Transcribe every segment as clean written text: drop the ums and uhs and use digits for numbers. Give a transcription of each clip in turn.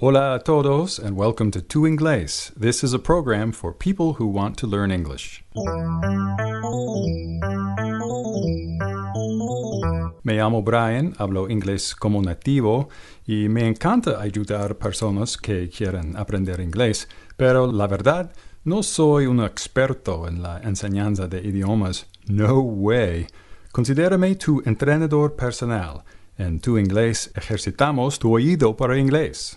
Hola a todos and welcome to Tu Inglés. This is a program for people who want to learn English. Me llamo Brian, hablo inglés como nativo y me encanta ayudar a personas que quieren aprender inglés, pero la verdad, no soy un experto en la enseñanza de idiomas. No way. Considérame tu entrenador personal. En Tu Inglés ejercitamos tu oído para inglés.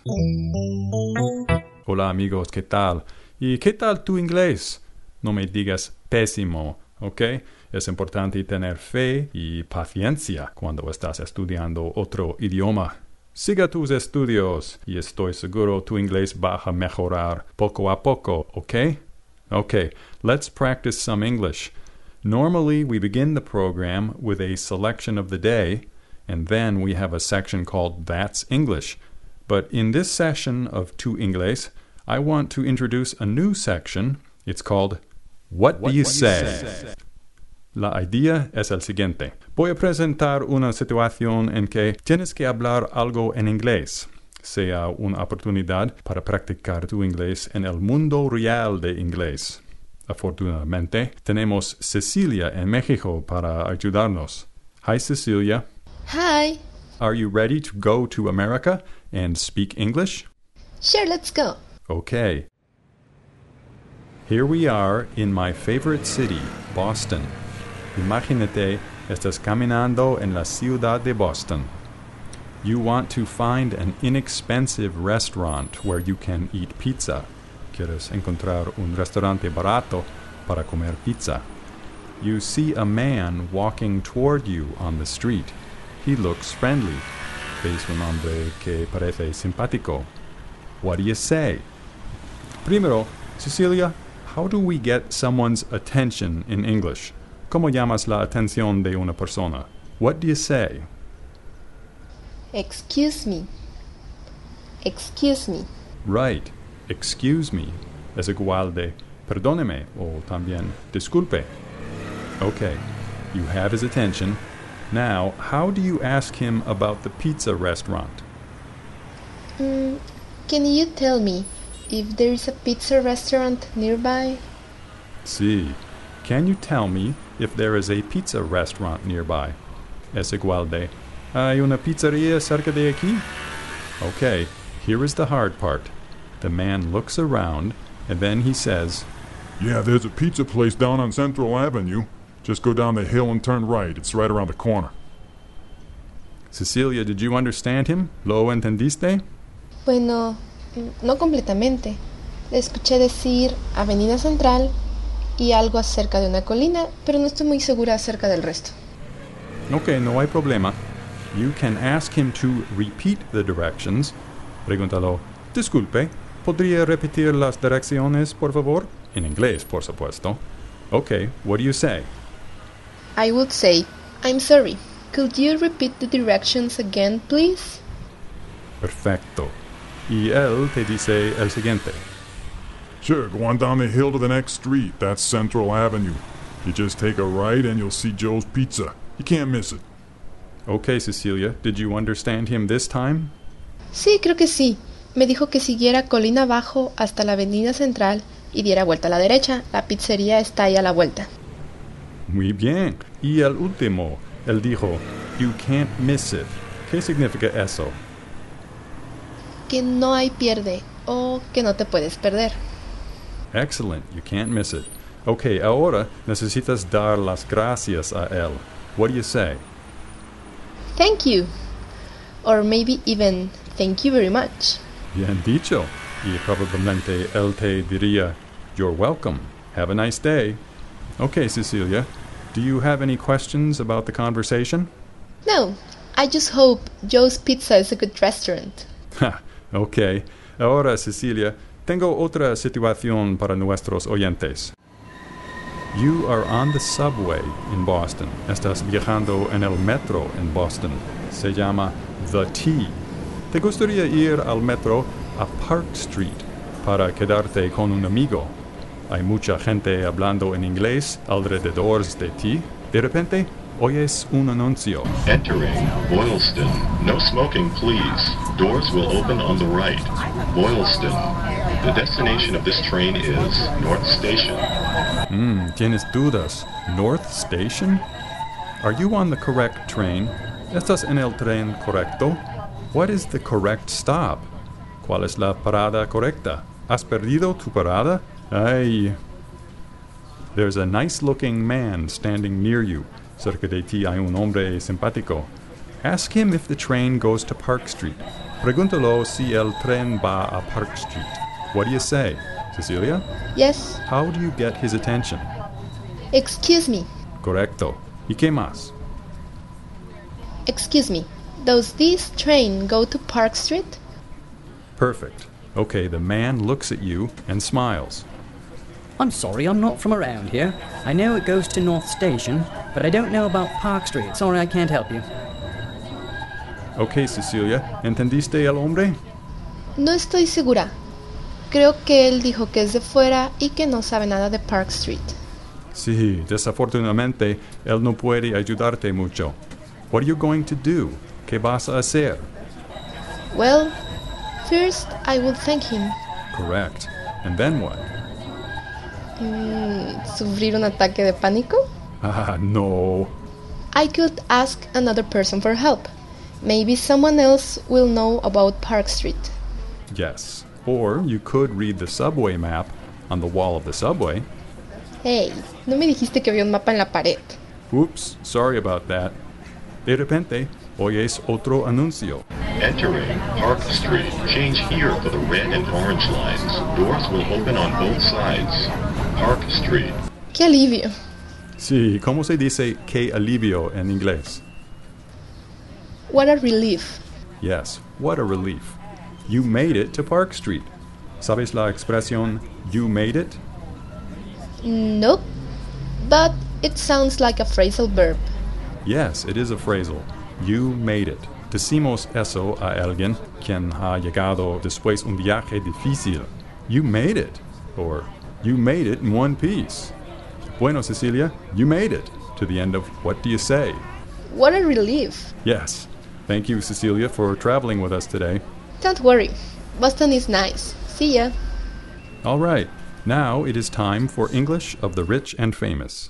Hola amigos, ¿qué tal? ¿Y qué tal tu inglés? No me digas pésimo, ¿ok? Es importante tener fe y paciencia cuando estás estudiando otro idioma. Siga tus estudios y estoy seguro tu inglés va a mejorar poco a poco, ¿ok? Okay, let's practice some English. Normally, we begin the program with a selection of the day, and then we have a section called That's English. But in this session of Tu Inglés, I want to introduce a new section. It's called What Do You Say? La idea es el siguiente. Voy a presentar una situación en que tienes que hablar algo en inglés. Sea una oportunidad para practicar tu inglés en el mundo real de inglés. Afortunadamente, tenemos Cecilia en México para ayudarnos. Hi, Cecilia. Hi. Are you ready to go to America and speak English? Sure, let's go. Okay. Here we are in my favorite city, Boston. Imagínate, estás caminando en la ciudad de Boston. You want to find an inexpensive restaurant where you can eat pizza. Quieres encontrar un restaurante barato para comer pizza. You see a man walking toward you on the street. He looks friendly. Ves un hombre que parece simpático. What do you say? Primero, Cecilia, how do we get someone's attention in English? ¿Cómo llamas la atención de una persona? What do you say? Excuse me. Excuse me. Right. Excuse me es igual de perdóneme o también disculpe. Okay, you have his attention. Now, how do you ask him about the pizza restaurant? Can you tell me if there is a pizza restaurant nearby? Sí. Can you tell me if there is a pizza restaurant nearby? Es igual de ¿hay una pizzería cerca de aquí? Okay, here is the hard part. The man looks around, and then he says, Yeah, there's a pizza place down on Central Avenue. Just go down the hill and turn right. It's right around the corner. Cecilia, did you understand him? ¿Lo entendiste? Bueno, no completamente. Le escuché decir Avenida Central y algo acerca de una colina, pero no estoy muy segura acerca del resto. Okay, no hay problema. You can ask him to repeat the directions. Pregúntalo, disculpe, ¿podría repetir las direcciones, por favor? En inglés, por supuesto. Okay, what do you say? I would say, I'm sorry. Could you repeat the directions again, please? Perfecto. Y él te dice el siguiente. Sure, go on down the hill to the next street. That's Central Avenue. You just take a right and you'll see Joe's Pizza. You can't miss it. Okay, Cecilia, did you understand him this time? Sí, creo que sí. Me dijo que siguiera colina abajo hasta la Avenida Central y diera vuelta a la derecha. La pizzería está ahí a la vuelta. Muy bien. Y el último, él dijo, you can't miss it. ¿Qué significa eso? Que no hay pierde o que no te puedes perder. Excellent, you can't miss it. Okay, ahora necesitas dar las gracias a él. What do you say? Thank you. Or maybe even thank you very much. Bien dicho. Y probablemente él te diría, you're welcome. Have a nice day. Okay, Cecilia, do you have any questions about the conversation? No, I just hope Joe's Pizza is a good restaurant. Ha, okay. Ahora, Cecilia, tengo otra situación para nuestros oyentes. You are on the subway in Boston. Estás viajando en el metro en Boston. Se llama The T. ¿Te gustaría ir al metro a Park Street para quedarte con un amigo? Hay mucha gente hablando en inglés alrededor de ti. De repente, hoy es un anuncio. Entering Boylston. No smoking, please. Doors will open on the right. Boylston. The destination of this train is North Station. ¿Tienes dudas? North Station? Are you on the correct train? ¿Estás en el tren correcto? What is the correct stop? ¿Cuál es la parada correcta? ¿Has perdido tu parada? Ay. There's a nice-looking man standing near you. Cerca de ti hay un hombre simpático. Ask him if the train goes to Park Street. Pregúntalo si el tren va a Park Street. What do you say? Cecilia? Yes. How do you get his attention? Excuse me. Correcto. ¿Y qué más? Excuse me. Does this train go to Park Street? Perfect. Okay, the man looks at you and smiles. I'm sorry, I'm not from around here. I know it goes to North Station, but I don't know about Park Street. Sorry, I can't help you. Okay, Cecilia, ¿entendiste el hombre? No estoy segura. Creo que él dijo que es de fuera y que no sabe nada de Park Street. Sí, desafortunadamente, él no puede ayudarte mucho. What are you going to do? ¿Qué vas a hacer? Well, first I will thank him. Correct. And then what? ¿Sufrir un ataque de pánico? Ah, no. I could ask another person for help. Maybe someone else will know about Park Street. Yes. Or you could read the subway map on the wall of the subway. Hey, no me dijiste que había un mapa en la pared. Oops, sorry about that. De repente, oyes otro anuncio. Entering Park Street. Change here for the red and orange lines. Doors will open on both sides. Park Street. ¡Qué alivio! Sí, ¿cómo se dice qué alivio en inglés? What a relief. Yes, what a relief. You made it to Park Street. ¿Sabes la expresión you made it? Nope. But it sounds like a phrasal verb. Yes, it is a phrasal. You made it. Decimos eso a alguien quien ha llegado después un viaje difícil. You made it. Or you made it in one piece. Bueno, Cecilia, you made it to the end of What Do You Say? What a relief. Yes. Thank you, Cecilia, for traveling with us today. Don't worry. Boston is nice. See ya. All right. Now it is time for English of the Rich and Famous.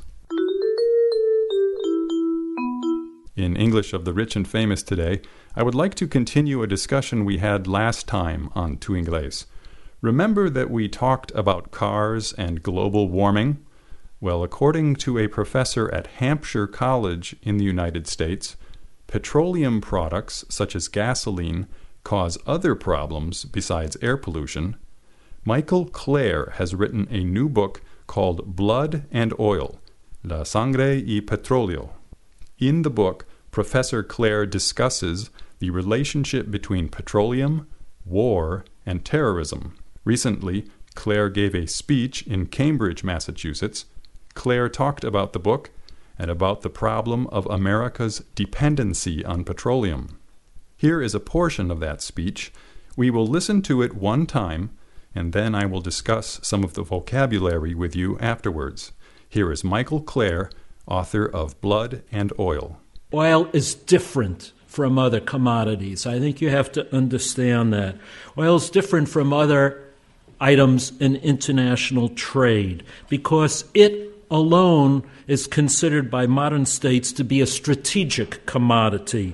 In English of the Rich and Famous today, I would like to continue a discussion we had last time on Tu Inglés. Remember that we talked about cars and global warming? Well, according to a professor at Hampshire College in the United States, petroleum products such as gasoline cause other problems besides air pollution. Michael Clare has written a new book called Blood and Oil, La Sangre y Petróleo. In the book, Professor Clare discusses the relationship between petroleum, war, and terrorism. Recently, Clare gave a speech in Cambridge, Massachusetts. Clare talked about the book and about the problem of America's dependency on petroleum. Here is a portion of that speech. We will listen to it one time, and then I will discuss some of the vocabulary with you afterwards. Here is Michael Clare, author of Blood and Oil. Oil is different from other commodities. I think you have to understand that. Oil is different from other items in international trade because it alone is considered by modern states to be a strategic commodity,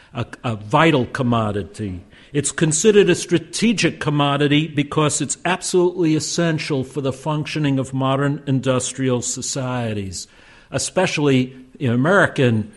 a vital commodity. It's considered a strategic commodity because it's absolutely essential for the functioning of modern industrial societies, especially in American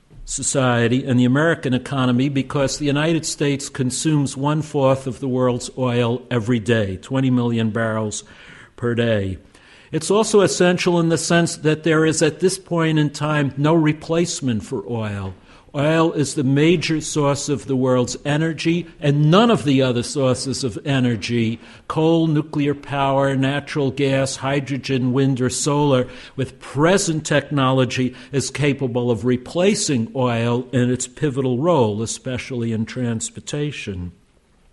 society and the American economy, because the United States consumes 1/4 of the world's oil every day, 20 million barrels per day. It's also essential in the sense that there is, at this point in time, no replacement for oil. Oil is the major source of the world's energy, and none of the other sources of energy, coal, nuclear power, natural gas, hydrogen, wind, or solar, with present technology is capable of replacing oil in its pivotal role, especially in transportation.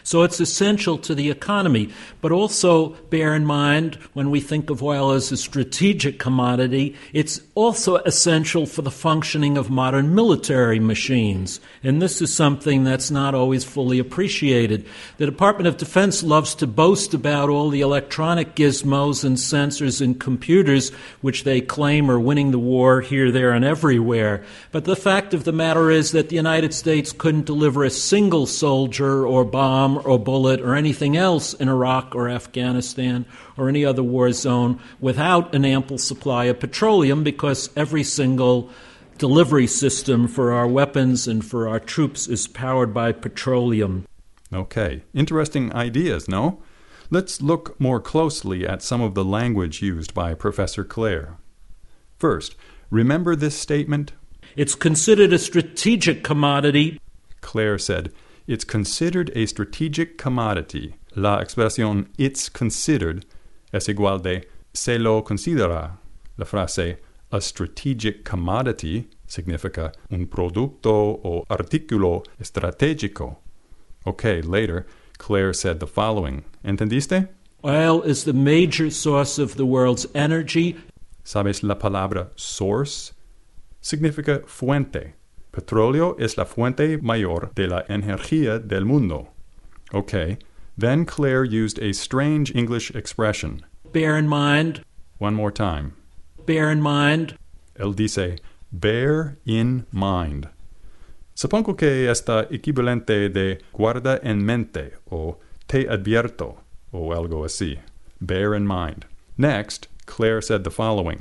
So it's essential to the economy. But also bear in mind, when we think of oil as a strategic commodity, it's also essential for the functioning of modern military machines. And this is something that's not always fully appreciated. The Department of Defense loves to boast about all the electronic gizmos and sensors and computers which they claim are winning the war here, there, and everywhere. But the fact of the matter is that the United States couldn't deliver a single soldier or bomb or bullet or anything else in Iraq or Afghanistan or any other war zone without an ample supply of petroleum, because every single delivery system for our weapons and for our troops is powered by petroleum. Okay, interesting ideas, no? Let's look more closely at some of the language used by Professor Clare. First, remember this statement? It's considered a strategic commodity. Clare said, it's considered a strategic commodity. La expresión it's considered es igual de se lo considera. La frase a strategic commodity significa un producto o artículo estratégico. Okay, later, Clare said the following. ¿Entendiste? Oil is the major source of the world's energy. ¿Sabes la palabra source? Significa fuente. Petróleo es la fuente mayor de la energía del mundo. Okay, then Clare used a strange English expression. Bear in mind. One more time. Bear in mind. Él dice, bear in mind. Supongo que está equivalente de guarda en mente o te advierto o algo así. Bear in mind. Next, Clare said the following.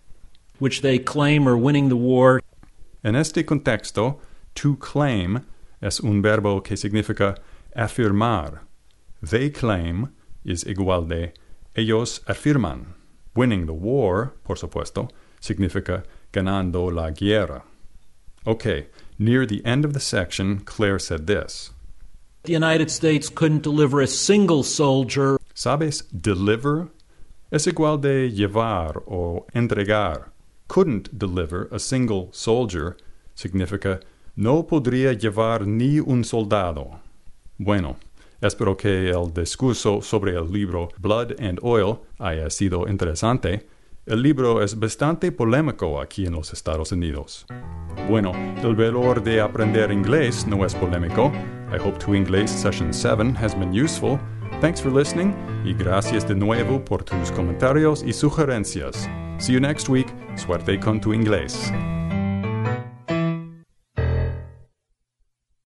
Which they claim are winning the war. En este contexto, to claim es un verbo que significa afirmar. They claim is igual de ellos afirman. Winning the war, por supuesto, significa ganando la guerra. Okay, near the end of the section, Clare said this. The United States couldn't deliver a single soldier. ¿Sabes? Deliver es igual de llevar o entregar. Couldn't deliver a single soldier significa no podría llevar ni un soldado. Bueno, espero que el discurso sobre el libro Blood and Oil haya sido interesante. El libro es bastante polémico aquí en los Estados Unidos. Bueno, el valor de aprender inglés no es polémico. I hope To English Session 7 has been useful. Thanks for listening y gracias de nuevo por tus comentarios y sugerencias. See you next week. Suerte con tu inglés.